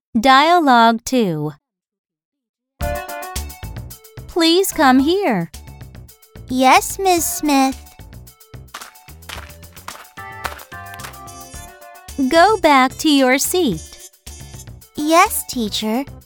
Dialogue 2. Please come here. Yes, Miss Smith. Go back to your seat. Yes, teacher.